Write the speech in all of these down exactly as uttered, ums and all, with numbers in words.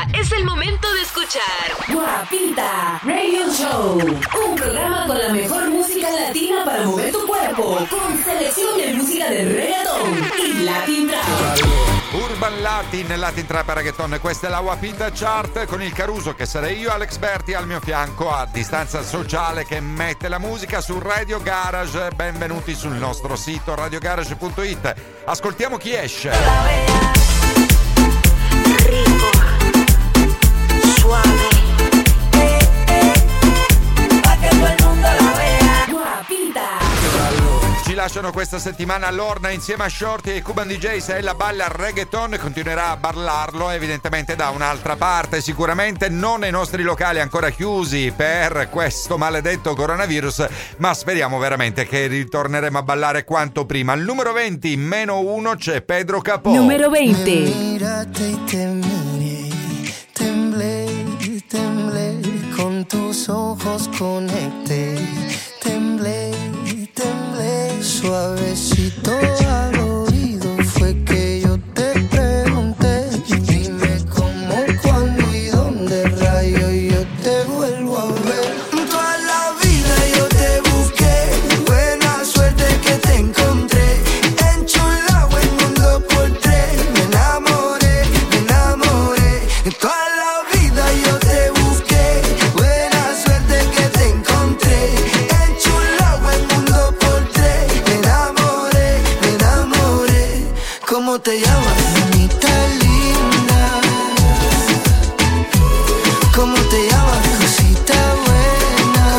es el momento de escuchar Guapita Radio Show, un programa con la mejor música latina para mover tu cuerpo, con selección de música de reggaeton y Latin Trap. Urban Latin, Latin Trap e Reggaeton, questa è la Guapita Chart con il Caruso che sarei io, Alex Berti al mio fianco a distanza sociale che mette la musica su Radio Garage. Benvenuti sul nostro sito radio garage punto it. Ascoltiamo chi esce. Rico, suave, eh, eh, pa' que todo el mundo la vea. Guapita. Ci lasciano questa settimana Lorna insieme a Shorty e Cuban D J. Se ella balla reggaeton continuerà a ballarlo evidentemente da un'altra parte, sicuramente non nei nostri locali ancora chiusi per questo maledetto coronavirus, ma speriamo veramente che ritorneremo a ballare quanto prima. Al numero venti meno uno c'è Pedro Capó. Numero venti. Mírate y te miré, temblé, temblé, con tus ojos conecté, temblé, temblé, suavecito al oído fue que yo te pregunté, dime cómo, cuándo y dónde rayo yo te vuelvo a ver. Toda la vida yo te busqué, buena suerte que te encontré, enchulado el mundo por tres, me enamoré, me enamoré. Toda la vida yo te busqué, buena suerte que te encontré, enchulado el mundo por tres, me enamoré, me enamoré. ¿Cómo te llamas, mamita linda? ¿Cómo te llamas, cosita buena?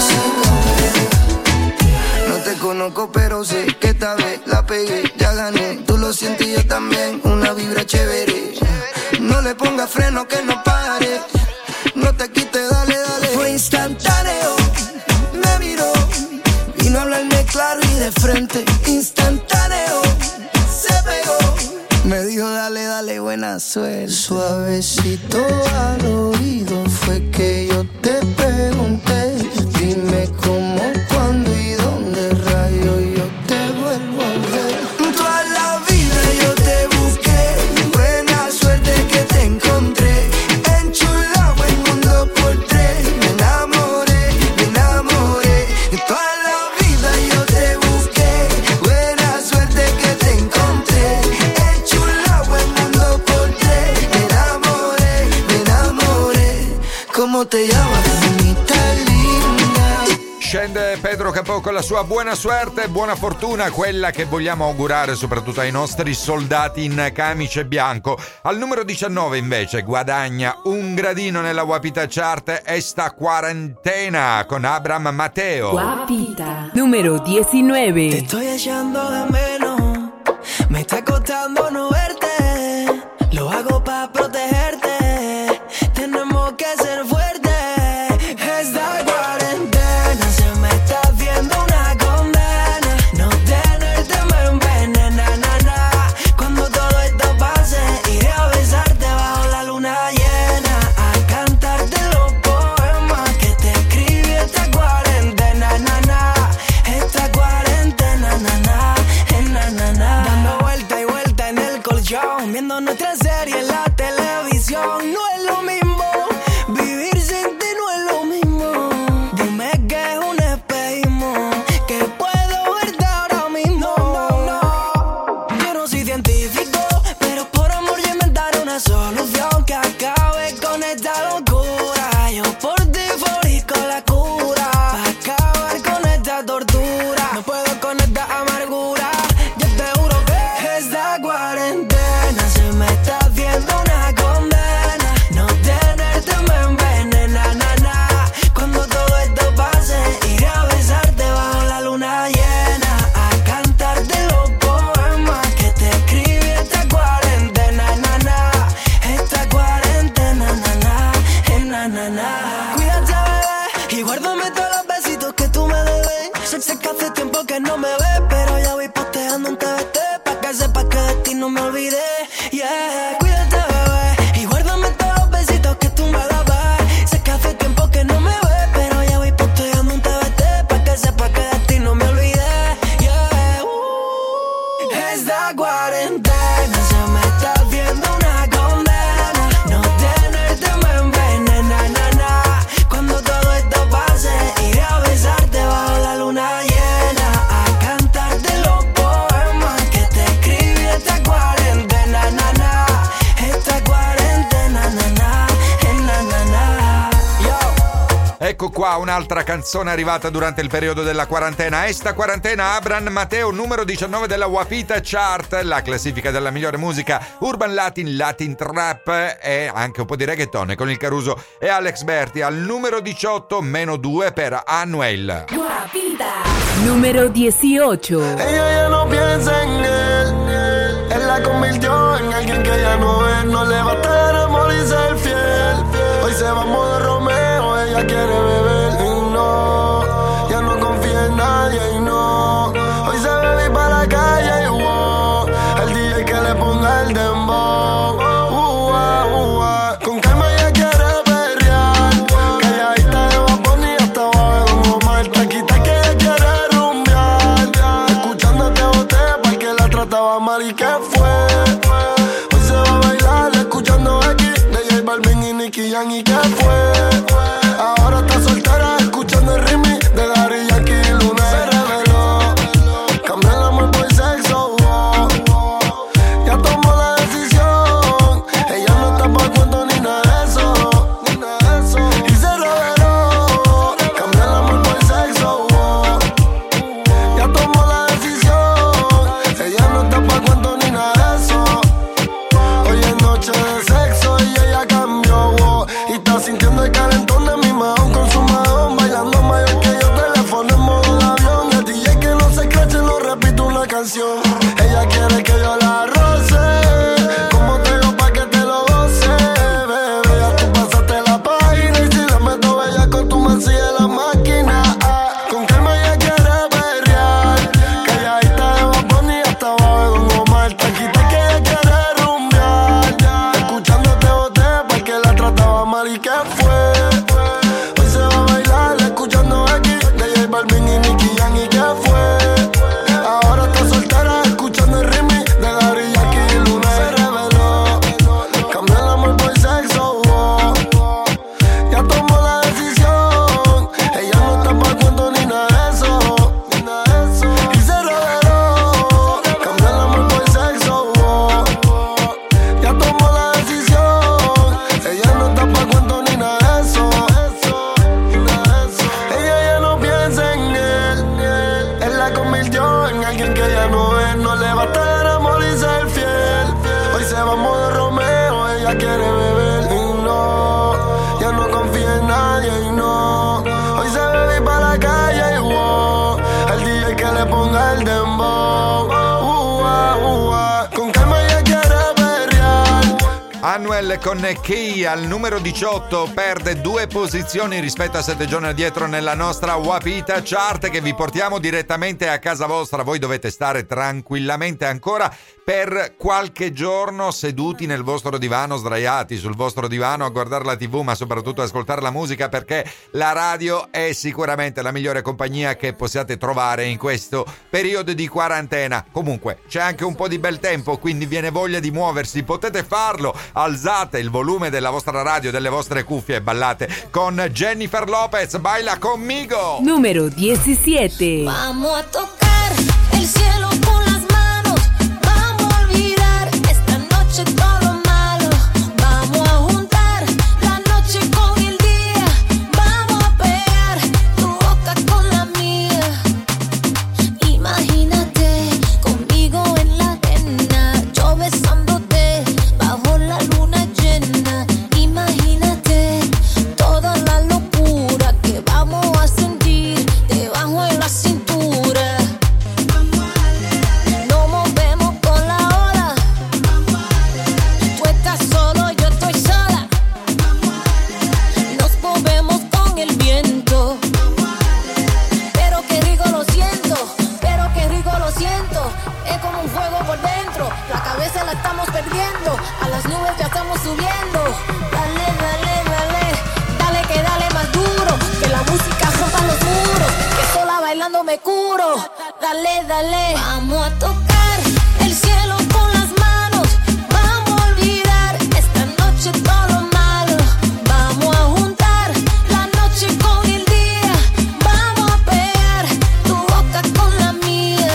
No te conozco pero sé que esta vez la pegué, ya gané, tú lo sientes y yo también, una vibra chévere. No le pongas freno que no pare, no te quites, dale, dale. Fue instantáneo, me miró, vino a hablarme claro y de frente. Instantáneo, se pegó, me dijo dale, dale, buena suerte. Suavecito al oído fue que yo te pregunté, dime cómo, cuándo y dónde rayo yo te vuelvo a ver. Toda la vida yo te busqué, buena suerte que te encontré, enchulado el mundo por tres, me enamoré, me enamoré. Toda la vida yo te busqué, buena suerte que te encontré, enchulado el mundo por tres, me enamoré, me enamoré. ¿Cómo te llamas, mamita linda? Scende Pedro Capó con la sua buona suerte, buona fortuna, quella che vogliamo augurare soprattutto ai nostri soldati in camice bianco. Al numero diciannove invece guadagna un gradino nella Guapita Chart esta quarantena con Abraham Mateo. Guapita. Numero diecinueve. Te estoy echando de menos, me está costando no verte, lo hago para protegerte, tenemos que ser fuertes. Esta cuarentena se me está haciendo una condena, no tenerte me envenena, na, na. Cuando todo esto pase, iré a besarte bajo la luna llena, a cantarte los poemas que te escribí esta cuarentena, na, na. Esta cuarentena, na, na, eh, na, na, na. Dando vuelta y vuelta en el colchón, viendo nuestra serie en la televisión. No es lo mismo, vivir sin ti no es lo mismo. Dime que es un espejismo, que puedo verte ahora mismo. No, no, no. Yo no soy científico, pero por amor yo inventaré una solución que acabe con esta locura. Yo por ti fabrico la cura, pa' acabar con esta tortura. No puedo con esta amargura, yo te juro que esta cuarentena se me está haciendo una condena, no tenerte me envenena, na, na. Cuando todo esto pase, iré a besarte bajo la luna llena, a cantarte los poemas que te escribí esta cuarentena, na, na. Esta cuarentena, na, na, eh, na, na, na. Cuídate, bebé, y guárdame todos los besitos que tú me debes. Sé, sé que hace tiempo que no me ves, pero ya voy posteando un T V T, pa' que sepas que de ti no me olvidé. Yeah, cuídate, bebé, y guárdame todos los besitos que tú me dabas. Sé que hace tiempo que no me ves, pero ya voy posteando un T V T, pa' que sepas que de ti no me olvidé. Yeah, uh. Esta cuarentena se me está haciendo una condena, no tenerte me Ecco qua un'altra canzone arrivata durante il periodo della quarantena. Esta quarantena, Abram Mateo, numero diciannove della Wapita Chart, la classifica della migliore musica urban latin, latin trap e anche un po' di reggaeton con il Caruso e Alex Berti. Al numero diciotto, meno due per Anuel. Wapita. Número dieciocho. Ella ya no piensa en él, él la convirtió en alguien que ya no es. No le basta el amor y ser fiel. Hoy se va a modo Romeo, ella quiere beber y no, ya no confía en nadie y no. Hoy se bebe para la calle y wow, el D J que le ponga el dembow. Uh, uh, uh, con calma ella quiere perrear, calladita de Bad Bunny hasta abajo de Don Omar. Taquita que ella quiere rumbear, escuchándote boté porque la trataba mal y que fue. Hoy se va a bailar escuchando aquí de J Balvin y Nicky Jam y que fue. Ahora está soltera escuchando el remix de Daddy Yankee y Luna. Se reveló, cambió el amor por sexo, oh, oh. Ya tomó la decisión, ella no está pa' cuento ni nada de eso, ni nada de eso. Y se reveló, cambió el amor por sexo, oh. Ya tomó la decisión, ella no está pa' cuento ni nada de eso. Hoy es noche de sexo y ella cambió, oh. Y está sintiendo el calentón de mi mahón con su mahón, bailando mayor que yo, teléfono en modo de avión. El D J que no se escrache, no repito una canción. Ella quiere que yo la roce, como te digo pa' que te lo goce, bebé. Ya tú pasaste la página y si la meto bella con tu mancilla en la máquina, ah. Con calma ella quiere perrear, calladita de Bad Bunny hasta abajo de Don Omar. Taquita que ella quiere rumbear, escuchándote boté porque la trataba mal y que fue. Hoy se va a bailar escuchando aquí de J Balvin y Nicky Jam y que fue. Ahora está soltera escuchando el remix de Daddy Yankee y Luna. Se reveló, cambió el amor por sexo, oh, oh. Ya tomó la decisión, ella no está pa' cuento ni nada de eso, ni nada de eso. Y se reveló, cambió el amor por sexo, oh, oh. Ya tomó la decisión, ella no está pa' cuento ni nada de eso, ni nada de eso. Ella ya no piensa en él, él la convirtió en alguien que ya no es. No le basta el amor y ser fiel. Hoy se va a modo Romeo, ella quiere beber y no, ya no confía en nadie y no. Hoy se bebe para la calle y wow, el D J que le ponga el dembow. Uh, uh, uh, uh. Con calma ella quiere perrear. Anuel con Key al numero diciotto perde due posizioni rispetto a sette giorni addietro nella nostra Wapita Chart, che vi portiamo direttamente a casa vostra. Voi dovete stare tranquillamente ancora per qualche giorno seduti nel vostro divano, sdraiati sul vostro divano a guardare la tivù, ma soprattutto ascoltare la musica, perché la radio è sicuramente la migliore compagnia che possiate trovare in questo periodo di quarantena. Comunque c'è anche un po' di bel tempo, quindi viene voglia di muoversi, potete farlo. Alzate il volume della vostra radio, delle vostre cuffie e ballate con Jennifer Lopez. Baila conmigo. Número diecisiete. Vamos a tocar el cielo con las manos, vamos a olvidar esta noche todo lo malo, vamos a juntar la noche con el día, vamos a pegar tu boca con la mía. Imagínate conmigo en la arena, yo besándote bajo la luna llena. Imagínate toda la locura que vamos a sentir debajo de la cintura. Nos movemos con la ola, tú estás solo, yo estoy sola. Nos movemos con el viento, pero qué rico lo siento, pero qué rico lo siento. Es como un fuego por dentro, la cabeza la estamos perdiendo, a las nubes ya estamos subiendo. Dale, dale, dale, dale que dale más duro, que la música rompa los muros, que sola bailando me curo. Dale, dale, vamos a tocar el cielo con las manos, vamos a olvidar esta noche todo lo malo, vamos a juntar la noche con el día, vamos a pegar tu boca con la mía.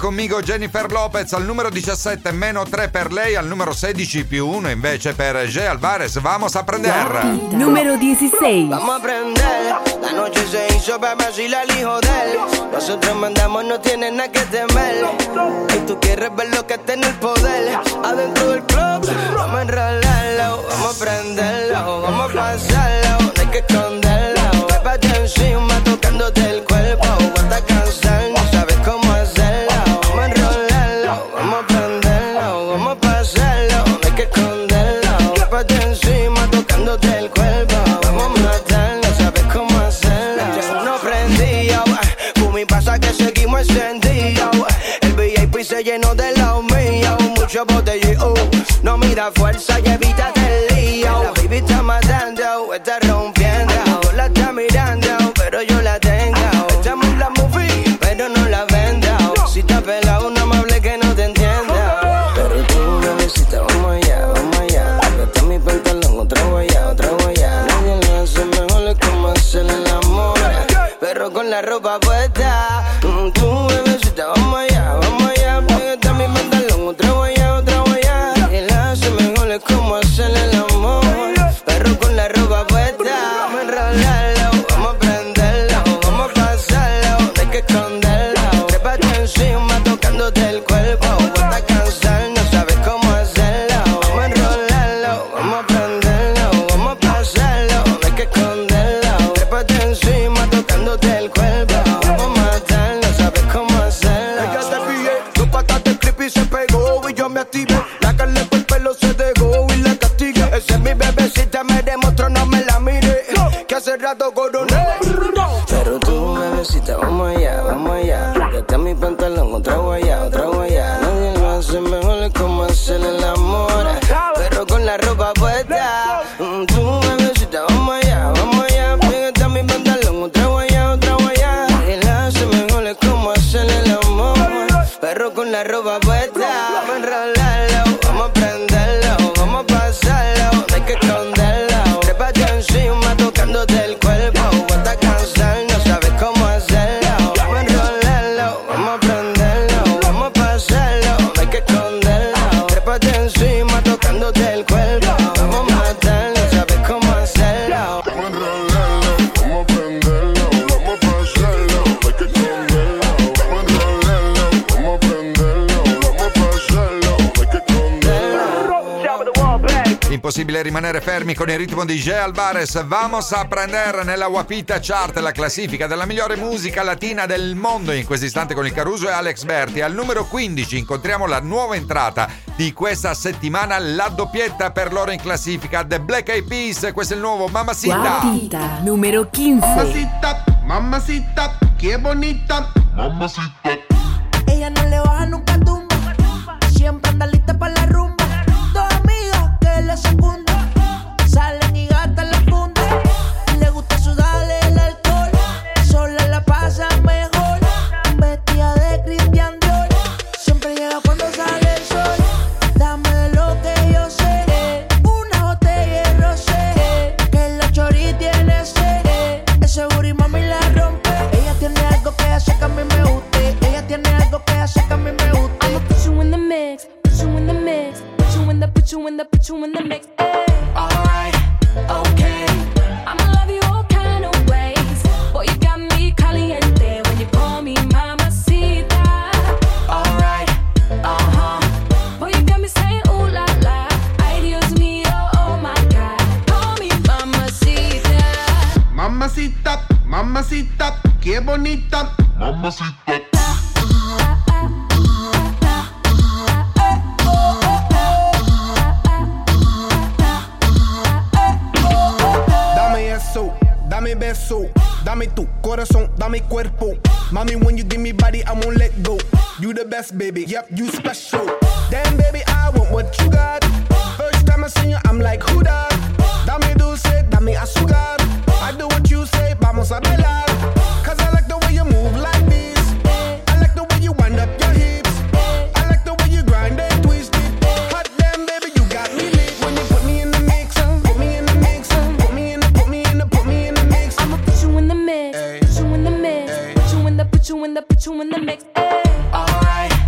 conmigo Jennifer Lopez al numero diciassette, meno tre per lei, al numero sedici più uno invece per Jay Alvarez. Vamos a prender. Número dieciséis. Vamos a prender, la noche se hizo para vacilar el hijo de él. Nosotros mandamos, no tiene nada que temer. Y tú quieres ver lo que está en el poder. Adentro del club, vamos a enrolarlo, vamos a prenderlo, vamos a pasarlo, no hay que esconderlo. Pépate encima tocándote el cuerpo, hasta cansar, no sabes cómo hacerlo. Vamos a enrolarlo, vamos a prenderlo, vamos a pasarlo, no hay que esconderlo. Pépate encima tocándote el cuerpo, vamos a matar, no sabes cómo hacerlo. Ya no prendido, fumi pasa que seguimos encendidos. El V I P se llenó de los míos, mucho botellero. No mira fuerza y evita el lío. La baby está matando, está rompiendo. La está mirando, pero yo la tengo. Echamos la movie, pero no la vendo. Si está pelado, no me hable que no te entiendo. Pero tú, bebecita, vamos allá, vamos allá. Está mi pantalón, otra huella, otra huella. Nadie le hace mejor, es como hacerle el amor. Pero con la ropa puesta. Tú, bebecita, vamos allá, vamos allá. Está mi pantalón, otra huella, otra huella. Nadie le hace mejor, es como hacerle el amor. Pero con la ropa puesta. Vamos a enrolarlo, vamos a prenderlo, vamos a pasarlo, no hay que esconderlo. Trépate encima tocándote el cuerpo, hasta cansar, no sabes cómo hacerlo. Vamos a enrolarlo, vamos a prenderlo, vamos a pasarlo, no hay que esconderlo. Trépate encima tocándote el cuerpo, vamos a matar, no sabes cómo hacerlo. Ella te pillé, dos patas de clip y se pegó y yo me activé. La carne por el pelo se dejó y la castigué. Esa es mi bebecita, me demostró, no me la mire, que hace rato coroné. Pero tú, bebecita, vamos allá, vamos allá. Que está mi pantalón, otra guaya, otra guaya. Nadie lo hace mejor, es como hacer el amor. Pero con la ropa puesta. Mm, Tú, bebecita, vamos allá, vamos allá. Que está mi pantalón, otra guaya, otra guaya. Nadie lo hace mejor, es como hacer el amor. Pero con la ropa puesta. Vamos a enrolarlo, vamos a prenderlo, vamos a pasarlo, no hay que esconderlo. Trépate encima tocándote el cuerpo, hasta cansar, no sabes cómo hacerlo. Vamos a enrolarlo, vamos a prenderlo, vamos a pasarlo, no hay que esconderlo. Trépate encima tocándote el cuerpo, vamos a matar, no sabes cómo hacerlo. Vamos a enrolarlo, vamos a prenderlo, vamos a pasarlo, no hay que esconderlo. Vamos a enrolarlo, vamos a prenderlo, vamos a pasarlo, no hay que esconderlo. Impossibile rimanere fermi con il ritmo di Jay Alvarez. Vamos a prendere nella Guapita Chart, la classifica della migliore musica latina del mondo in questo istante con il Caruso e Alex Berti. Al numero quindici incontriamo la nuova entrata di questa settimana, la doppietta per loro in classifica, The Black Eyed Peas. Questo è il nuovo Mamacita. Guapita. Número quince. Mamacita, mamacita, qué bonita. Ella no le baja nunca tumba, siempre anda lista para la rumba. Dos amigas que le secundan, salen y gastan la funda. Le gusta sudarle el alcohol, sola la pasa mejor. Vestida de Christian Dior, siempre llega cuando sale el sol. Dame de lo que yo sé, una botella de rosé, que la chori tiene sed. Ese booty mami la rompe. Ella tiene algo que hace que a mí me guste. Ella tiene algo que hace que a mí me guste. I'ma put you in the mix, put you in the mix, put you in the, put you in the, put you in the mix. Ay. Alright, okay. I'ma love you all kind of ways. Boy, you got me caliente when you call me mamacita. Alright, uh-huh. Boy, you got me saying ooh la la. Ay, Dios mío, oh my God. Call me mamacita. Mamacita, mamacita, qué bonita. Dame eso, dame beso, dame tu corazón, dame cuerpo. Mommy, when you give me body, I won't let go. You the best, baby, yep, you special. Damn, baby, I want what you got. First time I see you, I'm like, who that? Dame dulce, dame azúcar. I do what you say, vamos a bailar. Cause I like the way you move like this. I like the way you wind up your hips. I like the way you grind and twist it. Hot damn, baby, you got me lit. When you put me in the mix, put me in the mix, put me in the, put me in the, put me in the mix. I'ma put you in the mix, Ay. put you in the mix, Ay. put you in the, put you in the, put you in the mix. Ay. Alright,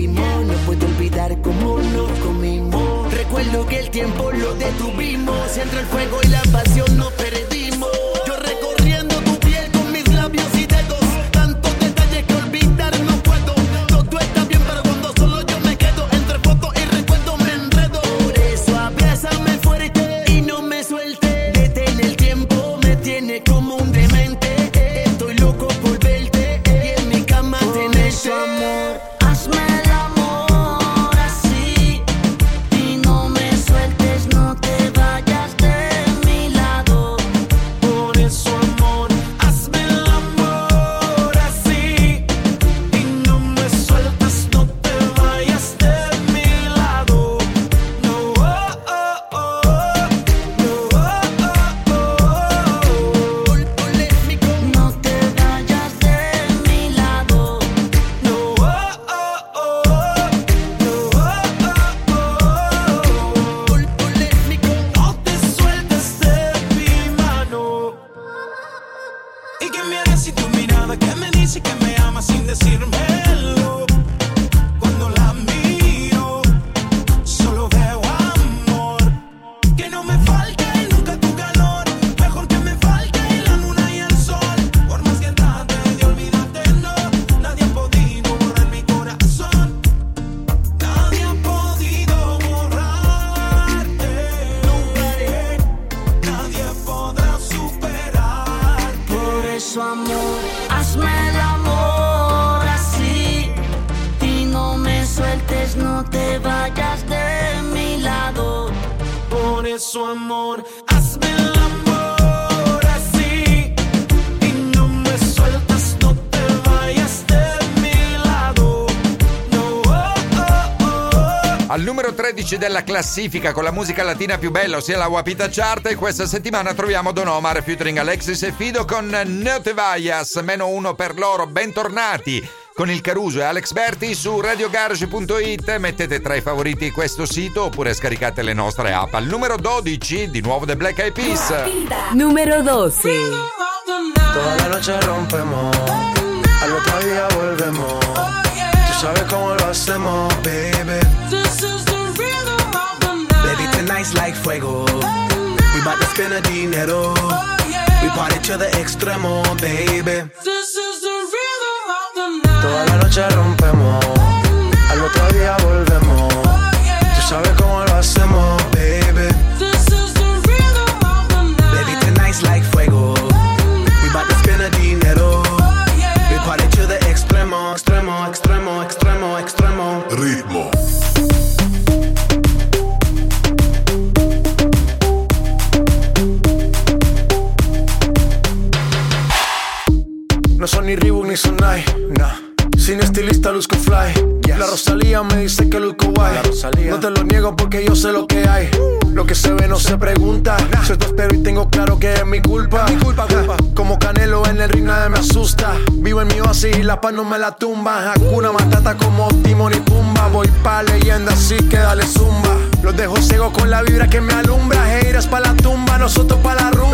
vivimos. No puedo olvidar cómo nos comimos. Recuerdo que el tiempo lo detuvimos. Entre el fuego y la pasión nos perdimos. Yo recorriendo tu piel con mis labios y dedos. Tantos detalles que olvidar no puedo. Todo está bien, pero cuando solo yo me quedo. Entre fotos y recuerdos me enredo. Por eso abrázame fuerte y no me suelte. Detén el tiempo, me tiene como un demente. Estoy loco por verte y en mi cama tenerte. Por eso, amor, hazme el amor así y no me sueltes, no te vayas de mi lado. Por eso, amor, hazme el amor así y no me sueltes, no te vayas de mi lado. No, oh, oh, oh, no, oh, oh, oh. Polémico, no te vayas de mi lado. No, oh, oh, oh, no, oh, oh, oh. Polémico, no te sueltes de mi mano. ¿Y qué me harás si tu mirada que me dice que me amas sin decírmelo? Cuando la miro, solo veo amor. Que no me falte nunca tu calor. Mejor que me falte la luna y el sol. Por más que trate de olvidarte, no. Nadie ha podido borrar mi corazón. Nadie ha podido borrarte. Nadie podrá superar. Por eso, amor, hazme el amor así y no me sueltes, no te vayas de mi lado. Por eso, amor, hazme el amor así y no me sueltes, no te vayas de mi lado. No, oh, oh, oh. Al numero tredici della classifica con la musica latina più bella, ossia la Guapita Chart, e questa settimana troviamo Don Omar featuring Alexis e Fido con No Te Vayas, meno uno per loro. Bentornati con il Caruso e Alex Berti su radio garage punto it. Mettete tra i favoriti questo sito oppure scaricate le nostre app. Al numero dodici di nuovo The Black Eyed Peas. Número doce. Toda la noche rompemos, al otro día volvemos. Tú sabes cómo lo hacemos, baby. Baby, tonight's like fuego. We bout to spend the dinero. We party to the extremo, baby. Toda la noche rompemos, al otro día volvemos. Tú sabes cómo lo hacemos, baby. Baby, tonight's like fuego. We bout to spend the dinero. We party to the extremo, extremo, extremo, extremo, extremo. Ritmo. No son ni Reebok ni Sonai, nah. Sin estilista luzco fly, yes. La Rosalía me dice que luzco guay. No te lo niego porque yo sé lo que hay. Lo que se ve no se pregunta, nah. Yo te espero y tengo claro que es mi culpa, mi culpa, culpa. Como Canelo en el ring nadie me asusta. Vivo en mi oasis y la paz no me la tumba. Hakuna Matata como Timon y Pumba. Voy pa' leyenda así que dale zumba. Los dejo ciego con la vibra que me alumbra. Haters pa' la tumba, nosotros pa' la rumba.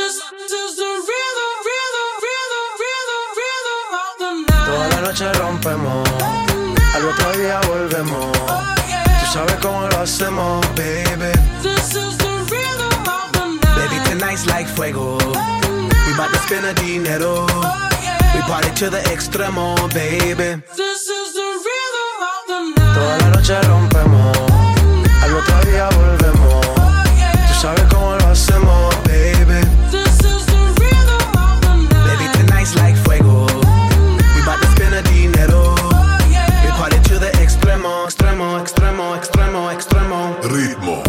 Toda la noche rompemos, al otro día volvemos. Tú sabes cómo lo hacemos, baby. Baby, tonight's like fuego. We bout to spend the dinero. We party to the extremo, baby. Toda la noche rompemos, al otro día volvemos. Tú sabes cómo lo hacemos, baby. Baby, tonight's like fuego. Bout to spend the dinero. We party to the extremo, extremo, extremo, extremo, extremo. Ritmo.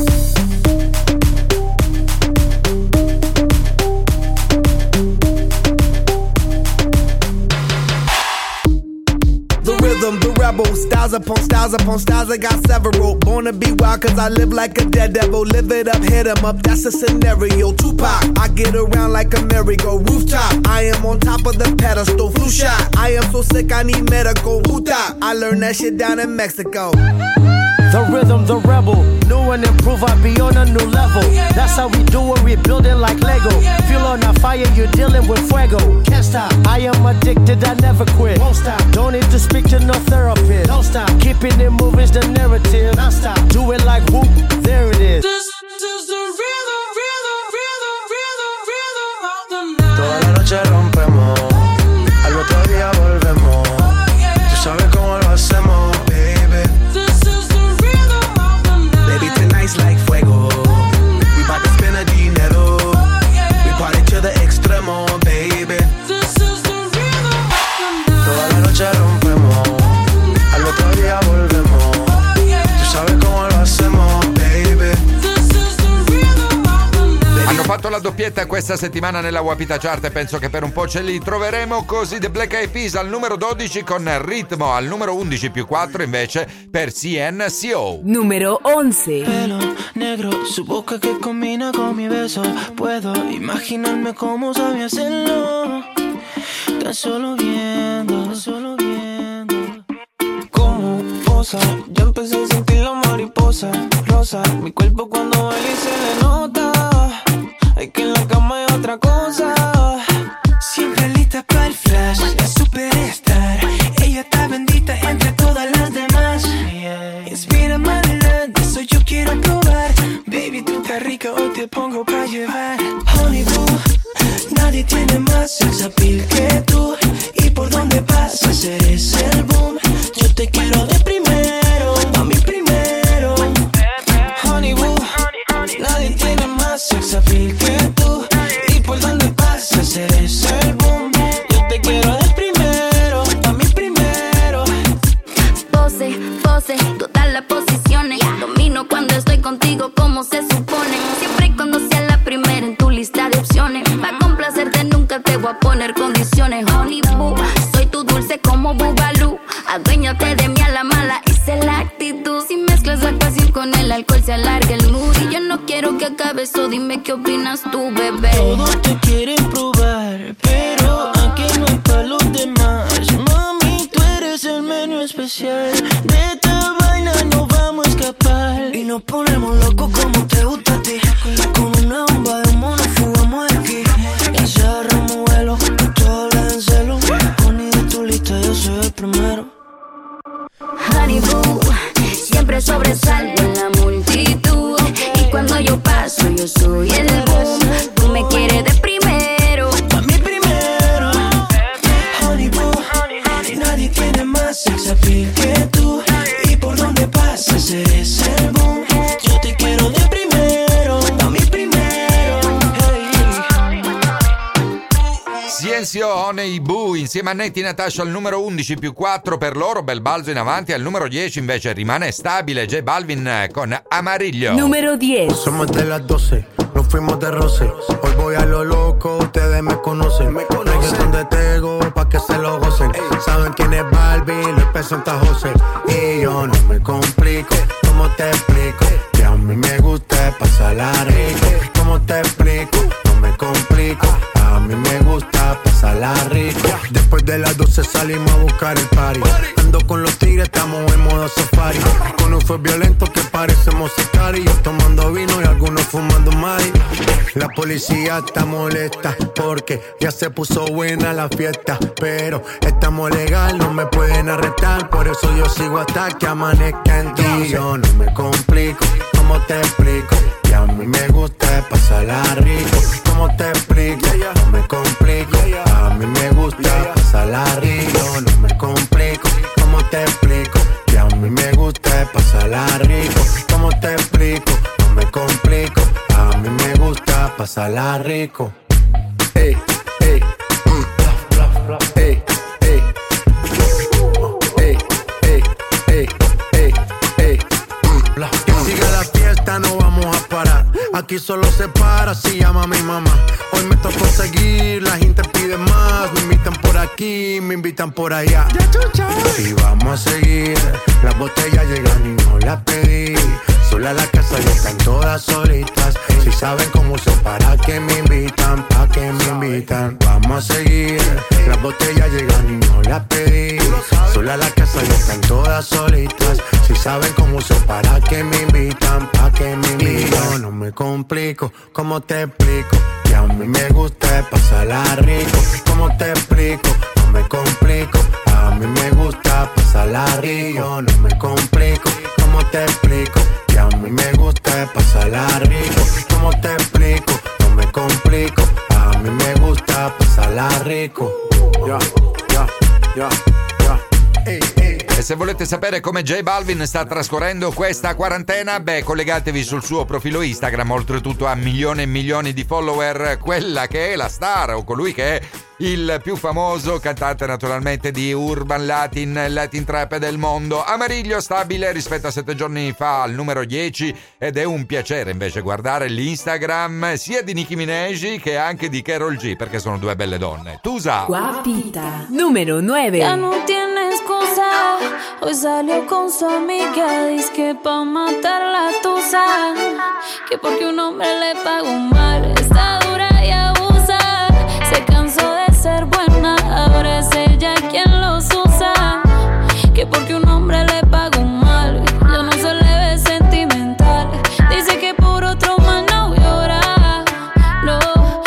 The rhythm, the rebel, styles upon styles upon styles, I got several. Born to be wild cause I live like a dead devil. Live it up, hit 'em up, that's a scenario. Tupac, I get around like a merry-go rooftop. I am on top of the pedestal, flu shot. I am so sick I need medical. Huta, I learned that shit down in Mexico. the rhythm, the rebel. New and improve, I be on a new level. That's how we do it, we build it like Lego. Feel on a fire, you're dealing with fuego. Can't stop, I am addicted, I never quit. Won't stop, don't need to speak to no therapist. Don't stop, keeping it moving's the narrative. Don't stop, do it like whoop, there it is. This is the rhythm, rhythm, rhythm, rhythm, rhythm of the night. Toda la noche rompemos, al otro día volvemos. Tú sabes cómo lo hacemos, baby. This is the rhythm of the night. Baby, tonight's like fuego. We bout to spend a dinero. We party to the extremo, baby. This is the rhythm of the night. Toda la noche rompemos, al otro día volvemos. Tú sabes cómo lo hacemos, baby. This is the rhythm of the night. Hanno fatto la doppietta questa settimana nella Wapita Chart e penso che per un po' ce li troveremo così. The Black Eyed Peas al numero dodici con Ritmo, al numero undici più quattro invece per C N C O. Número once. Pelo negro, su boca que combina con mi beso. Puedo imaginarme cómo sabe hacerlo. Tan solo viendo, tan solo viendo. Como posa, ya empecé a sentir la mariposa rosa. Mi cuerpo cuando baila y se le nota. Hay que en la cama hay otra cosa. Siempre lista para el flash, la superstar. Ella está bendita entre todas las demás. Inspira adelante, eso yo quiero probar. Baby, tú estás rica, hoy te pongo pa' llevar. Honey boo, nadie tiene más sex appeal que tú. Y por donde pasas eres el boom. Yo te quiero de primero, a mí primero. Honey boo, nadie tiene más sex appeal que tú. Y por donde pasas eres el boom. Yo te quiero de primero, a mí primero. Pose, pose, todas las posiciones. Domino cuando estoy contigo como se supone. Siempre y cuando sea la primera en tu lista de opciones. Pa' complacerte nunca te voy a poner condiciones. Honey boo, soy tu dulce como Bugalú. Aduéñate de mí a la mala, esa es la actitud. Si mezclas la pasión con el alcohol se alarga el mood. Y yo no quiero que acabe eso, dime qué opinas tú, bebé. Todos te quieren probar, pero aquí no hay pa' los demás. Mami, tú eres el menú especial. De esta vaina no vamos a escapar. Y nos ponemos locos como te gusta a ti. Con una bomba de mono fugamos de aquí. Y se agarramos vuelo, todo habla en celo. Honey, de tu lista yo soy el primero. Honey boo, siempre sobresalgo en la multitud. Y cuando yo paso yo soy el boom. Tú me quieres de primero, A mí primero. Honey boo, nadie tiene más sex appeal que tú. Y por donde pasas eres el boom. Yo te quiero de primero, a mí primero. C N C O, Honey Boo insieme a Netti Natasha al numero undici più quattro per loro, bel balzo in avanti. Al numero dieci invece rimane stabile J Balvin con Amarillo. Número diez. Somos de las doce, nos fuimos de roce. Hoy voy a lo loco, ustedes me conocen. Reggaetón de Tego, pa' que se lo gocen. Saben quién es Balvin, Luis presenta José. Y yo no me complico, ¿cómo te explico? Que a mí me gusta pasarla rico. ¿Cómo te explico? No me complico, a mí me gusta pasarla rico. Después de las doce salimos a buscar el party. Ando con los tigres, estamos en modo safari. Con un fue violento que parecemos sicari. Yo tomando vino y algunos fumando mari. La policía está molesta porque ya se puso buena la fiesta. Pero estamos legal, no me pueden arrestar. Por eso yo sigo hasta que amanezca en ti. Yo no me complico, ¿cómo te explico? Que a mí me gusta pasarla rico. ¿Cómo te explico? No me complico, a mí me gusta pasarla rico. No me complico, ¿cómo te explico? Que a mí me gusta pasarla rico. ¿Cómo te explico? No me complico, a mí me gusta pasarla rico. Ey, ey, mm. Ey, ey, ey, ey, ey, ey, ey, mm. Que siga la fiesta, no vamos a parar. Aquí solo se para si llama a mi mamá. Hoy me tocó seguir, la gente pide más. Me invitan por aquí, me invitan por allá. Y vamos a seguir, las botellas llegan y no las pedí. Sola la casa y están todas solitas. Si saben cómo uso para que me invitan, pa' que me invitan. Vamos a seguir, las botellas llegan y no las pedí. Sola la casa y están todas solitas. Si saben cómo uso para que me invitan, pa' que me invitan. Yo no me complico, ¿cómo te explico? Que a mí me gusta pasarla rico. ¿Cómo te explico? No me complico. A mí me gusta pasarla rico. No me complico, ¿cómo te explico? Que a mí me gusta pasarla rico. ¿Cómo te explico? No me complico. A mí me gusta pasarla rico. Yeah, yeah, yeah, yeah. Ehi, ehi. E se volete sapere come J Balvin sta trascorrendo questa quarantena, beh, collegatevi sul suo profilo Instagram. Oltretutto ha milioni e milioni di follower, quella che è la star, o colui che è il più famoso cantante naturalmente di Urban Latin, Latin Trap del mondo. Amariglio stabile rispetto a sette giorni fa al numero dieci, ed è un piacere invece guardare l'Instagram sia di Nicki Minaj che anche di Karol G, perché sono due belle donne. Tusa. Guapita, número nueve. Ya no tiene excusa, hoy salió con su amiga, dice que pa' matar la tusa, que porque un hombre le pagó mal, está dura y abusa, se cansó de ser buena, ahora es ella quien los usa, que porque un hombre le pagó mal, ya no se le ve sentimental, dice que por otro más no llora, no,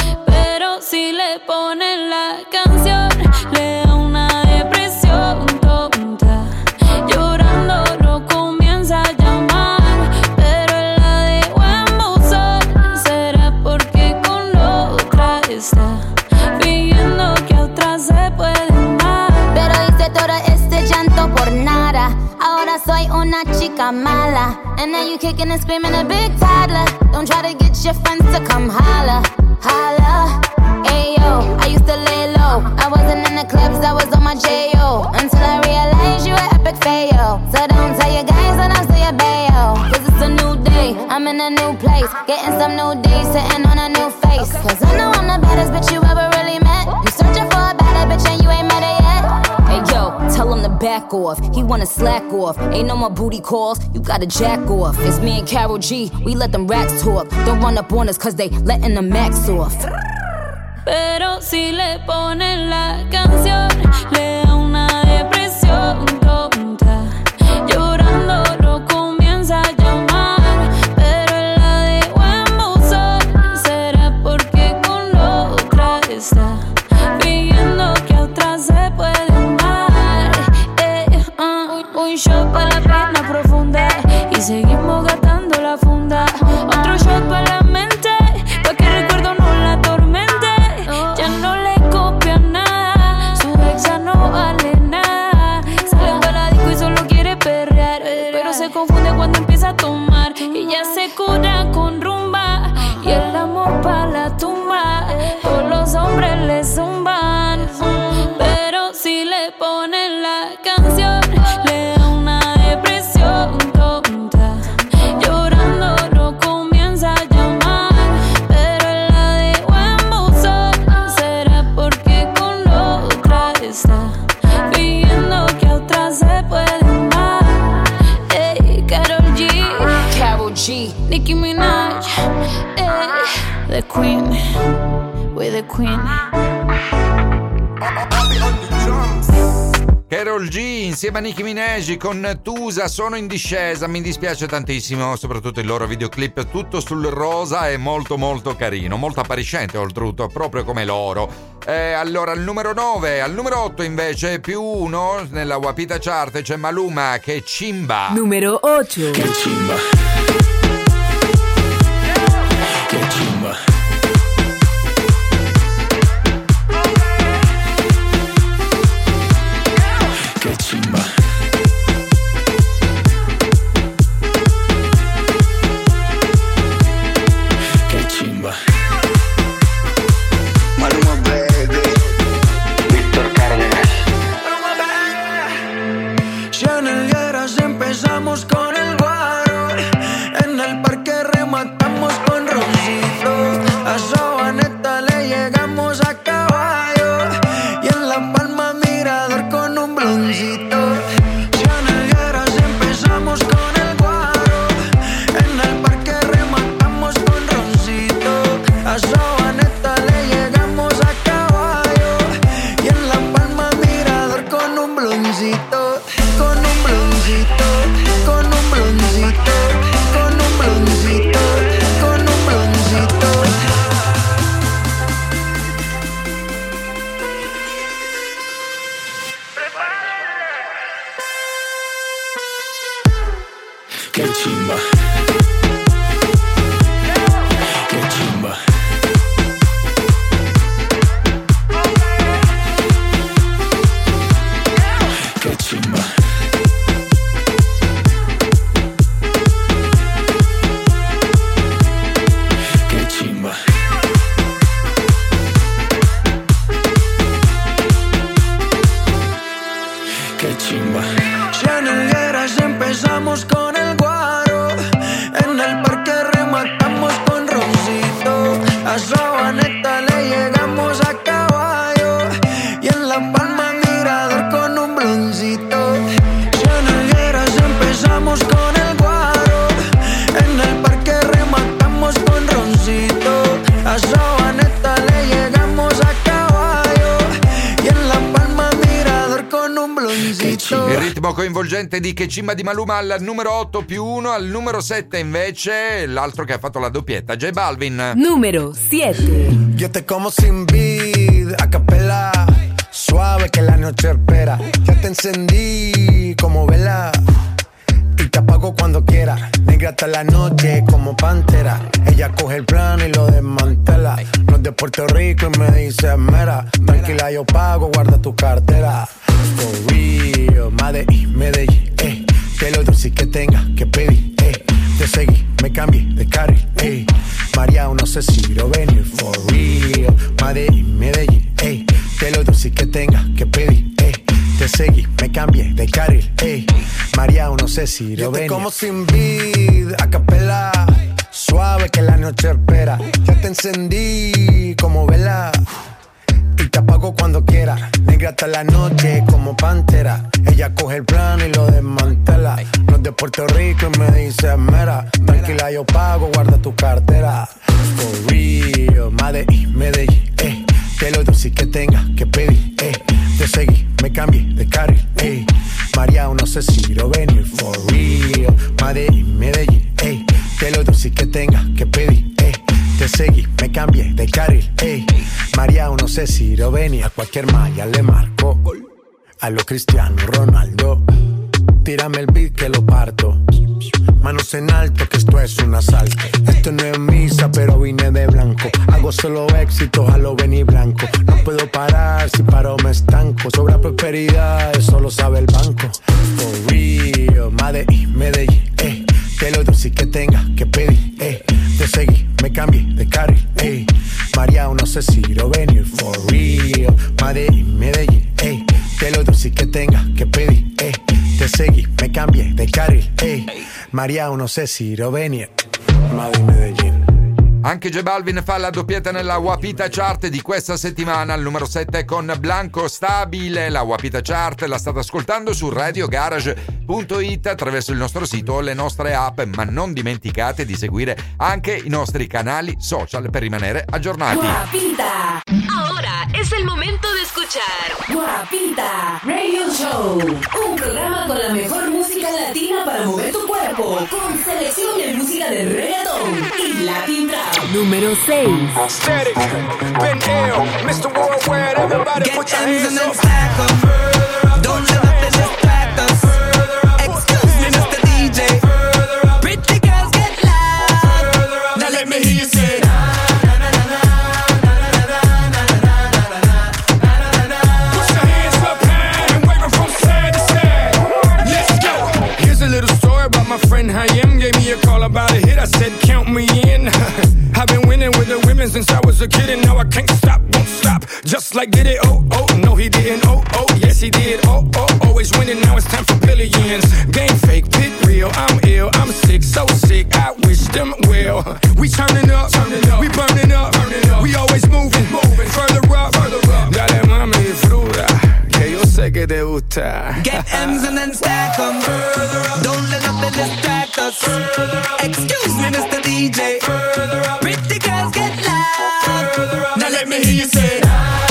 pero si le ponen la canción, le da una depresión tonta, llorando lo comienza a llamar, pero él la dejó en buzón, será porque con otra está fingiendo que a otra se puede amar. Pero hice todo este llanto por nada, ahora soy una chica mala, and now you kicking and screaming a big toddler, don't try to get your friends to come holla, holla. Ayo, I used to lay low, I wasn't in the clubs, I was on my J O, until I realized you were epic fail. So don't tell your guys that I'm still your bayo, cause it's a new day, I'm in a new place, getting some new days, sitting on a new face, cause I know I'm the baddest bitch you ever really met, you searching for a better bitch and you ain't met her yet. Hey yo, tell him to back off, he wanna slack off, ain't no more booty calls, you gotta jack off. It's me and Karol G, we let them racks talk, don't run up on us cause they letting the max off. Pero si le ponen la canción, le da una depresión tonta, llorando lo comienza a llamar, pero él la dejó en buzón, será porque con otra está fingiendo que a otra se puede amar. Eh, uh, un shot para la pena profunda y seguimos gastando la funda, otro shot para la mente, pa' que recuerdo no la atormente. Ya no le copia nada, su ex ya no vale nada. Sale un baladico y solo quiere perrear, pero se confunde cuando empieza a tomar y ya se cura con rumba y el amor pa' la tumba. Todos los hombres le zumban, pero si le ponen la canción, le da una depresión tonta, llorando lo comienza a llamar, pero él la dejó en buzón, será porque con otra está fingiendo que a otra se puede amar. Ey, Karol G, Karol G, Nicki Minaj, ey, the queen, we're the queen. Karol G insieme a Nicki Minaj con Tusa sono in discesa, mi dispiace tantissimo, soprattutto il loro videoclip tutto sul rosa è molto molto carino, molto appariscente oltretutto, proprio come loro. Eh, allora al numero nove, al numero otto invece più uno nella Guapita Chart c'è Maluma che Chimba. Numero otto. Che chimba. Che chimba. Che chimba. Che chimba. Maluma baby. Víctor Cárdenas. Chanel Guerras empezamos con el guaro. Che chimba. Che chimba. Che chimba. Che chimba. Che chimba. Chanelgueras empezamos con el guaro, en el parque rematamos con roncito, a Sabaneta le llegamos a caballo y en La Palma mirador con un bloncito. Chanelgueras empezamos con el guaro, en el parque rematamos con roncito, a Sabaneta le llegamos a caballo y en La Palma mirador con un bloncito. Il ritmo coinvolgente di Che Cimba di Maluma al numero otto più uno, al numero sette invece l'altro che ha fatto la doppietta, J Balvin. Numero siete. Yo te como sin vid, a capela, suave que la noche espera. Ya te encendí como vela y te apago cuando quiera. Negra hasta la noche como pantera. Ella coge el plano y lo desmantela. No es de Puerto Rico y me dice mera. Tranquila, yo pago, guarda tu cartera. For real, Medellín, Medellín, eh. Que lo dulce que tenga que pedir, eh. Te seguí, me cambié de carril, eh. María, no sé si lo venir. For real, Medellín, Medellín, eh. Que lo dulce que tenga que pedir, eh. Te seguí, me cambié de carril, eh. María, no sé si lo venir. Yo te como sin vid, a capela, suave que la noche espera. Ya te encendí como vela y te apago cuando quiera. Negra hasta la noche como pantera. Ella coge el plano y lo desmantela. No es de Puerto Rico y me dice mera. Tranquila, yo pago, guarda tu cartera. For real, Medellín, Medellín, eh. Que lo dulce que tenga que pedir, eh. Te seguí, me cambié de carril, eh. María, no sé si lo venir. For real, Medellín, Medellín, eh. Que lo dulce que tenga que pedir, eh. Te seguí, me cambié de carril, ey. María, no sé si lo venía. A cualquier malla le marco. A lo Cristiano Ronaldo. Tírame el beat que lo parto. Manos en alto, que esto es un asalto. Esto no es misa, pero vine de blanco. Hago solo éxitos, a lo venir blanco. No puedo parar, si paro me estanco. Sobra prosperidad, eso lo sabe el banco. For real, Medellín, Medellín, eh. Que lo dulce que tenga que pedir, eh. Te seguí, me cambié de carril, eh. María, no sé si lo venir. For real, Medellín, Medellín, eh. Que lo dulce que tenga que pedir, eh. Te seguí, me cambié de carril, eh. María, no sé si lo venir. Medellín, Medellín. Anche J Balvin fa la doppietta nella Wapita Chart di questa settimana, al numero sette con Blanco Stabile. La Wapita Chart la state ascoltando su radio garage punto it attraverso il nostro sito o le nostre app, ma non dimenticate di seguire anche i nostri canali social per rimanere aggiornati. Guapita. Ahora es el momento de escuchar Guapita Radio Show, un programa con la mejor música latina para mover tu cuerpo, con selección de música de reggaeton y Latin Trap. Número seis. Static, been ill, mister Worldwide, everybody put your hands up. Don't let nothing distract us. Excuse me, mister D J. Pretty girls get loud. Now let me hear you say. Put your hands up high and wave 'em from side to side. Let's go. Here's a little story about my friend Hayem. Gave me a call about a hit. I said, count me in. I've been winning with the women since I was a kid, and now I can't stop, won't stop. Just like did it, oh, oh, no he didn't, oh, oh, yes he did, oh, oh, always winning, now it's time for billions. Game fake, pit real, I'm ill, I'm sick, so sick, I wish them well. We turning up, turning up, we burning up, burning up. We always moving, moving, further up, further up. Dale mami, fruta, que yo sé que te gusta. Get M's and then stack 'em. Don't let nothing distract us. Excuse me, mister D J. Pretty girls get loud. Now let me hear you say.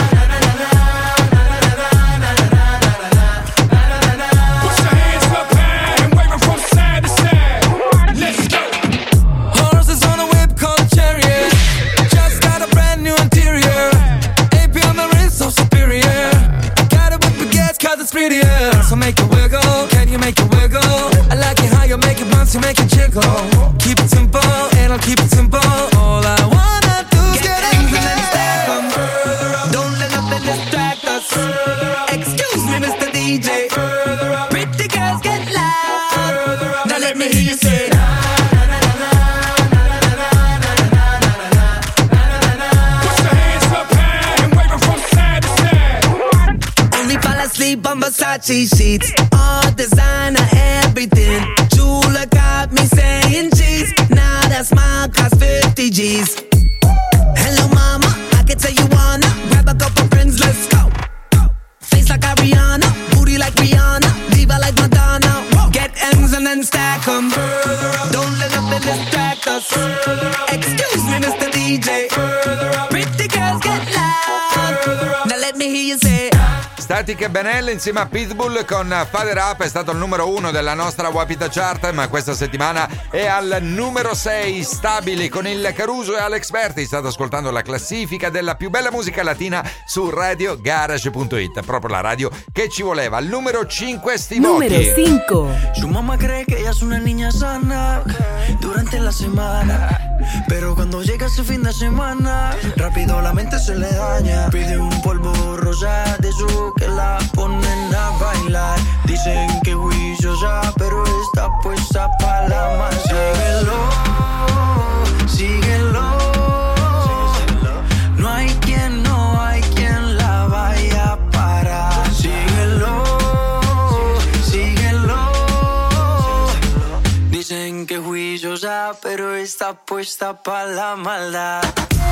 Put your hands up high and wave 'em from side to side. Let's go. Horses on a whip called chariot. Just got a brand new interior. A P on the wrist, so superior. Got it with baguettes cause it's prettier. So make it wiggle, can you make it wiggle? I like it how you make it bounce to make it jiggle. Keep it simple, and I'll keep it simple. All I wanna do is get ends and then stack them. Don't let nothing distract us. Excuse me, Mister D J. Pretty girls get loud. Now let me hear you say. Sleep on Versace sheets, all designer, everything. Jula got me saying cheese. Now that smile costs fifty G's. Hello mama, I can tell you wanna grab a couple friends, let's go. Face like Ariana, booty like Rihanna, diva like Madonna. Get M's and then stack 'em. Don't let nothing distract us. Excuse me, Mister D J. Pretty girls get loud. Now let me hear you say. Static e Benel insieme a Pitbull con Father Up è stato il numero uno della nostra Wapita Chart, ma questa settimana è al numero sei, stabili con il Caruso e Alex Berti. State ascoltando la classifica della più bella musica latina su radio garage punto it, proprio la radio che ci voleva. Al numero cinque Steve Numero cinque. Su mamá cree que ella es una niña sana durante la semana, pero cuando llega ese fin de semana rápido la mente se le daña. Pide un polvo rosa de su que la ponen a bailar. Dicen que juiciosa, pero está puesta pa' la masa. Síguelo, síguelo. No hay quien, no hay quien la vaya a parar. Síguelo, síguelo. Dicen que juiciosa, pero está puesta pa' la maldad.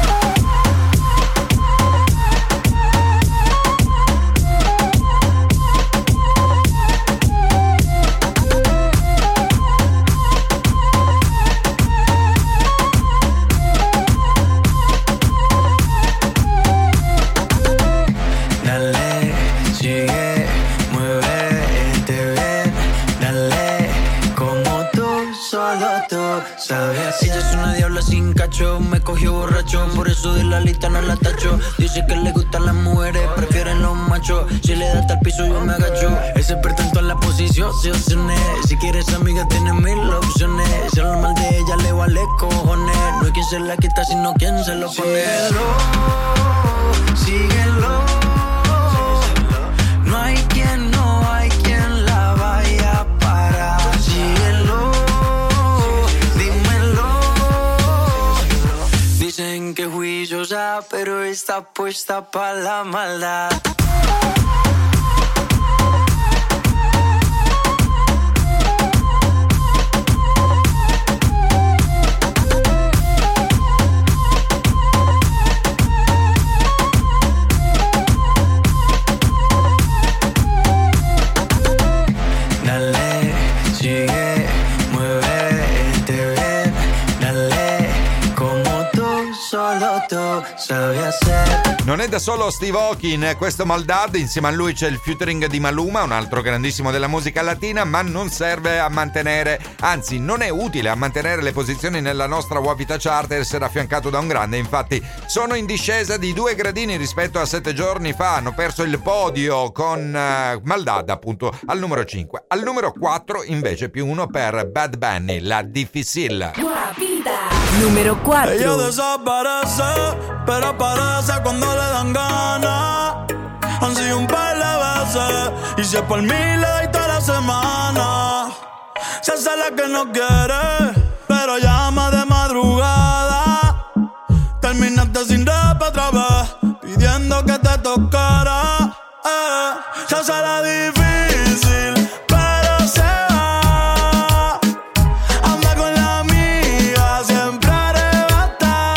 Ella es una diabla sin cacho, me cogió borracho, por eso de la lista no la tacho. Dice que le gustan las mujeres, prefieren los machos. Si le da hasta el piso yo me agacho. Es experta en todas las posiciones. Si quieres amiga tiene mil opciones. Si habla mal de ella le vale cojones. No hay quien se la quita sino quien se lo pone. Síguelo, síguelo. No hay quien, no hay quien la vaya a parar. Síguelo. Dicen que juiciosa, pero está puesta pa' la maldad. Dale, sigue, muévete bien, dale, como tú, solo tú sabes hacer. Non è da solo Steve Aoki in questo Maldad, insieme a lui c'è il featuring di Maluma, un altro grandissimo della musica latina, ma non serve a mantenere, anzi non è utile a mantenere le posizioni nella nostra Wapita Chart e essere affiancato da un grande. Infatti sono in discesa di due gradini rispetto a sette giorni fa, hanno perso il podio con uh, Maldad appunto al numero cinque. Al numero quattro invece più uno per Bad Bunny, La Difícil. Wapita numero quattro. Ella desaparece, pero aparece cuando le dan ganas. Han sido un par de veces y si es por mí le doy toda la semana. Se hace la que no quiere, pero llama de madrugada. Terminaste sin rap otra vez, pidiendo que te tocara. Eh, se hace la difícil, pero se va. Anda con la amiga, siempre arrebata,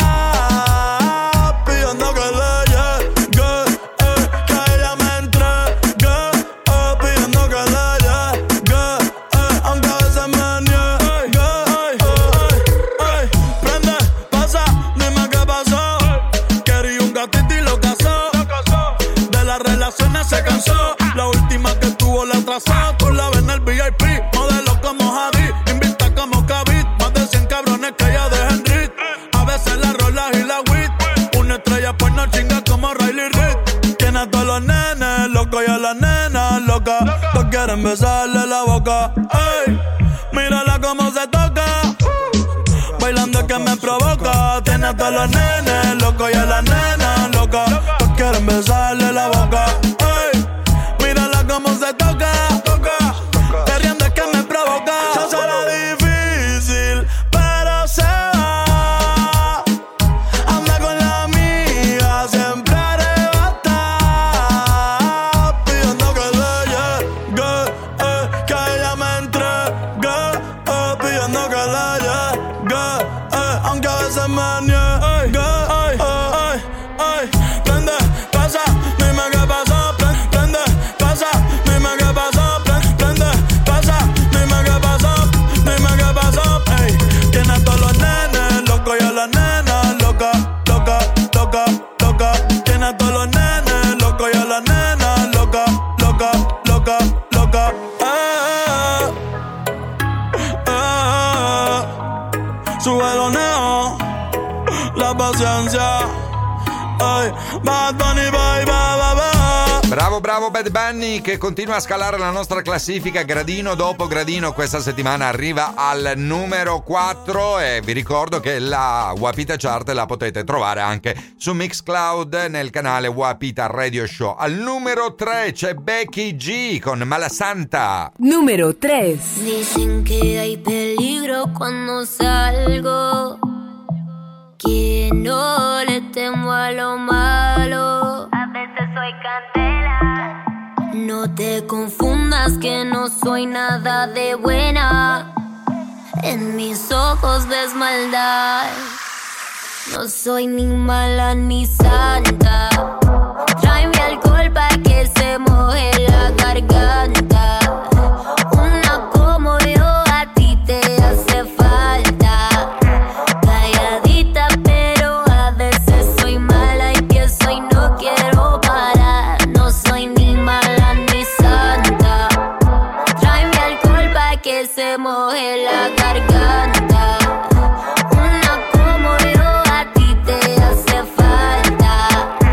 pidiendo que le llegue, eh, que a ella me entregue, eh, pidiendo que le llegue, eh, aunque a veces me niegue. Ey, ey, ey, prende, pasa, dime qué pasó. Quería un gatito y lo casó. De las relaciones se cansó. La última que tuvo la atrasó. Tú la ves en el V I P, modelo como Javi, invita como Kavit. Más de cien cabrones que ella deja en rit. A veces la rola y la wit. Una estrella pues no chinga como Riley Reid. Tiene a todos los nenes locos y a las nenas locas. Todos quieren besarle la boca. Ey, mírala cómo se toca. Bailando que me provoca. Tiene a todos los nenes locos y a las nenas locas. Todos quieren besarle la boca. Ey, mírala cómo se toca. Perreando es que me provoca. Se será difícil, pero se va. Anda con la amiga, siempre arrebata. Pidiendo que le llegue, eh, que ella me entregue, eh, pidiendo que le llegue, eh, aunque a veces me niegue. Ay, ay, ay, prende, pasa, dime qué pasó. Prende, pasa, dime qué pasó. Prende, pasa, dime qué pasó. Dime qué pasó. Ey, tiene a todos los nenes locos y a las nenas loca, loca, loca, loca. Tiene a todos los nenes locos y a las nenas loca, loca, loca, loca. Eh, eh, eh. Sube los neo, la paciencia. Ay, Bad Bunny, bye, bye, bye, bye. Bravo, bravo Bad Bunny che continua a scalare la nostra classifica gradino dopo gradino. Questa settimana arriva al numero quattro e vi ricordo che la Wapita Chart la potete trovare anche su Mixcloud nel canale Wapita Radio Show. Al numero tre c'è Becky G con Malasanta. Número tres. Dicen que hay peligro cuando salgo, que no le temo a lo malo. A veces soy candela. No te confundas que no soy nada de buena. En mis ojos ves maldad. No soy ni mala ni santa. Tráeme alcohol pa' que se moje la garganta. Una como yo a ti te hace falta. Calladita pero a veces soy mala, empiezo y no quiero parar. No soy ni mala ni santa. Tráeme alcohol pa' que se moje la garganta. Una como yo a ti te hace falta.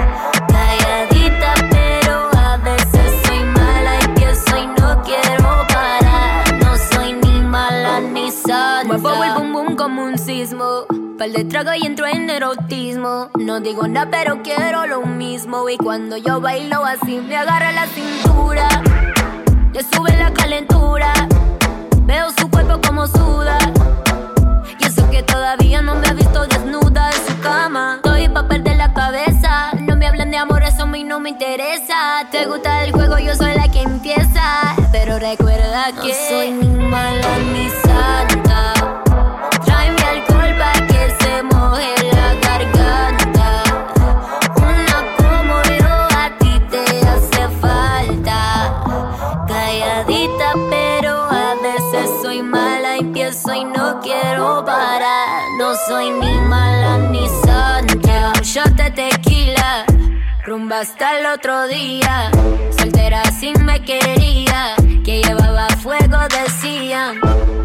Calladita pero a veces soy mala, empiezo y no quiero parar. No soy ni mala ni santa. Muevo el bum bum como un sismo. Par de trago y entro en erotismo. No digo nada pero quiero lo mismo. Y cuando yo bailo así me agarra la cintura. Le sube la calentura. Veo su cuerpo como suda. Y eso que todavía no me ha visto desnuda en su cama. Estoy pa' perder la cabeza. No me hablan de amor, eso a mí no me interesa. Te gusta el juego, yo soy la que empieza. Pero recuerda que no soy ni mala ni santa. Tráeme alcohol pa' que se moje la garganta. Una como yo a ti te hace falta. Calladita pero a veces soy mala, empiezo y no quiero parar. No soy ni mala ni santa. Un shot de tequila, rumba hasta el otro día. Soltera sin me quería, que llevaba fuego decían.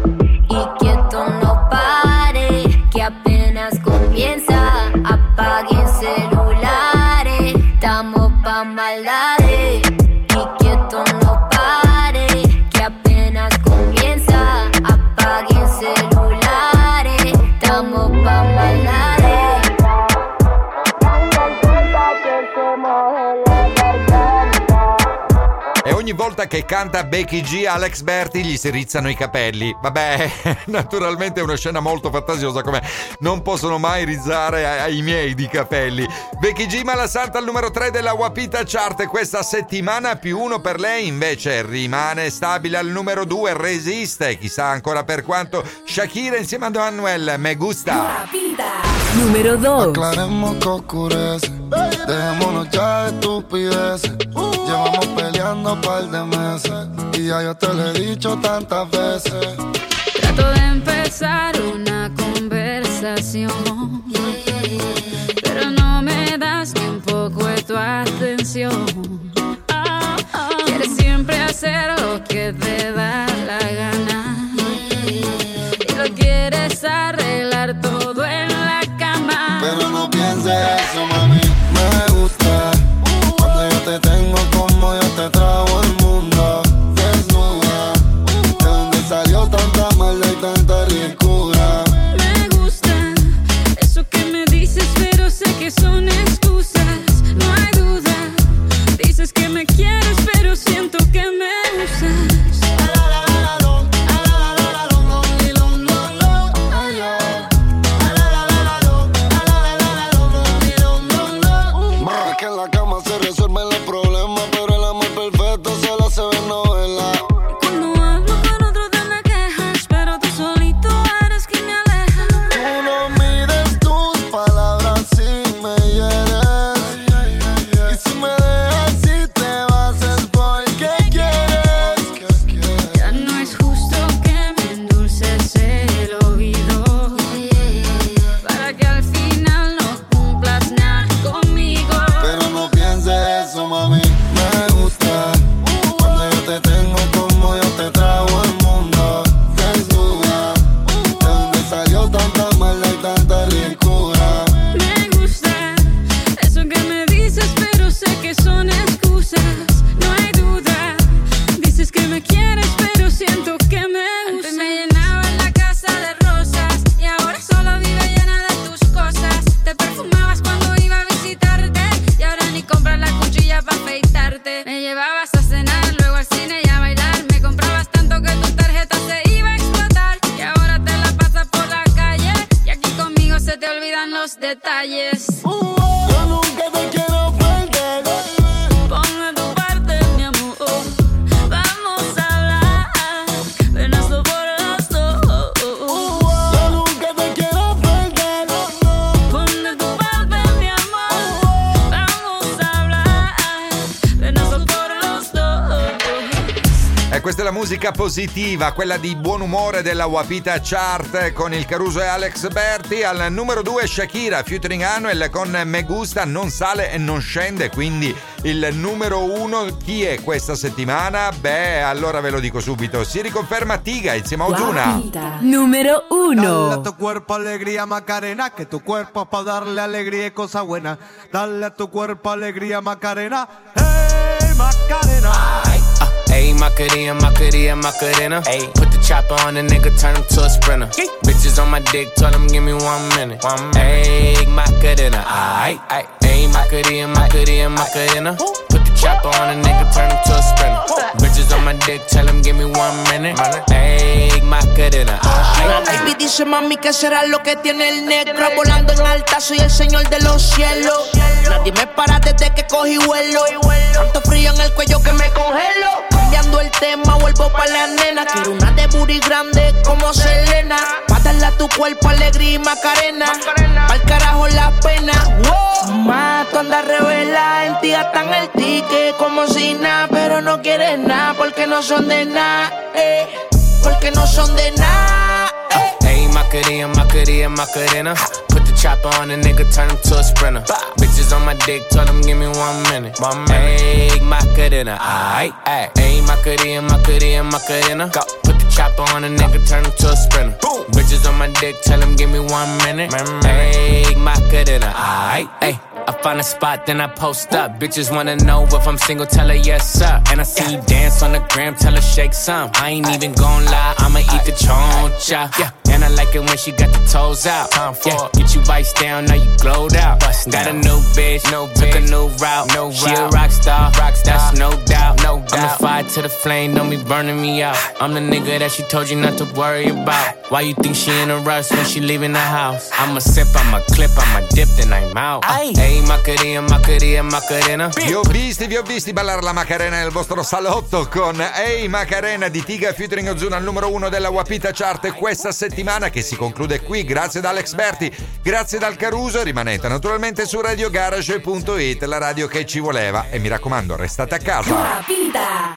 Y que esto no pare, que apenas comienza. Apaguen celulares, estamos pa' maldades. Y que esto no pare, que apenas comienza. Apaguen celulares, estamos pa' maldades. E ogni volta che canta Becky G, Alex Berti gli si rizzano i capelli. Vabbè, naturalmente è una scena molto fantasiosa, come non possono mai rizzare ai miei di capelli. Becky G, Malasanta al numero tre della Wapita Chart questa settimana, più uno per lei, invece rimane stabile al numero due, resiste, chissà ancora per quanto. Shakira insieme a Don Manuel, Me Gusta. Wapita. Número dos. Aclaremos que oscurece, dejémonos ya de estupideces. Llevamos peleando un par de meses y ya yo te lo he dicho tantas veces. Trato de empezar una conversación, pero no me das ni un poco de tu atención. Quieres siempre hacer lo que te da la gana y lo quieres arreglar todo en la cama. Pero no pienses eso, mami, me gusta cuando yo te tengo como yo te trago el mundo desnuda. De donde salió tanta maldad y tan detalles. Yo nunca te quiero perder. Pon de tu parte, mi amor. Vamos a hablar. Ven a por los dos. Yo nunca te quiero perder. Pon de tu parte, mi amor. Vamos a hablar. Ven a por los dos. E questa è la musica positiva, quella di buon umore della Wapita Chart con il Caruso e Alex Berti. Al numero due Shakira featuring Anuel con Me Gusta, non sale e non scende, quindi il numero uno chi è questa settimana? Beh, allora ve lo dico subito, si riconferma Tiga insieme a Ozuna. Wapita numero uno. Dale a tu cuerpo alegría Macarena, que tu cuerpo es para darle alegría y cosas buenas. Dale a tu cuerpo alegría Macarena, hey Macarena. Ayy, Macarena, Macarena, Macarena. Ayy, put the chopper on the nigga, turn him to a sprinter. Yee. Bitches on my dick, tell him give me one minute. One minute. Ayy, Macarena, aight, aight. Ayy, Macarena, Macarena, Macarena. Put the chopper on the nigga, turn him to a sprinter. Bitches on my dick, tell him give me one minute. Ayy, Macarena, aight. Baby dice mami que será lo que tiene el negro. Volando en alta, soy el señor de los cielos. Nadie me para desde que cogí vuelo. Tanto frío en el cuello que me congelo. Cambiando el tema, vuelvo pa' la nena. Quiero una de booty grande como Selena. Pa' darle a tu cuerpo alegría y Macarena. Pa'l carajo la pena. Wow. Ma, tú andas revela, en ti gastan el ticket como si nada. Pero no quieres nada porque no son de nada, eh. Porque no son de nada, eh. Ayy, Macarena, Macarena, Macarena. Put the chopper on the nigga, turn him to a sprinter. Bitches on my dick, tell him give me one minute. One minute. Ayy, Macarena, aight, aight. Ayy, Macarena, Macarena, Macarena. Go. Put the chopper on the nigga, turn him to a sprinter. Boom. Bitches on my dick, tell him give me one minute. Ayy, Macarena, aight, ayy. I find a spot, then I post up. Bitches wanna know if I'm single, tell her yes, sir. And I see you dance on the gram, tell her shake some. I ain't even gon' lie, I'ma eat the choncha. Yeah. And I like it when she got the toes out. Yeah. Get you vice down, now you glowed out. Got a new bitch, no took a new route. No she route. A rock star, rock star, that's no doubt. No doubt. I'm the fire to the flame, don't be burning me out. I'm the nigga that she told you not to worry about. Why you think she in a rush when she leaving the house? I'ma sip, I'ma clip, I'ma dip, then I'm out. Hey, Macarena, Macarena, Macarena. Vi ho visti, vi ho visti ballare la Macarena nel vostro salotto con Ehi Macarena di Tiga featuring Ozuna al numero uno della Wapita Chart questa settimana, che si conclude qui. Grazie da Alex Berti, grazie dal Caruso. Rimanete naturalmente su radio garage punto it, la radio che ci voleva, e mi raccomando restate a casa. Wapita.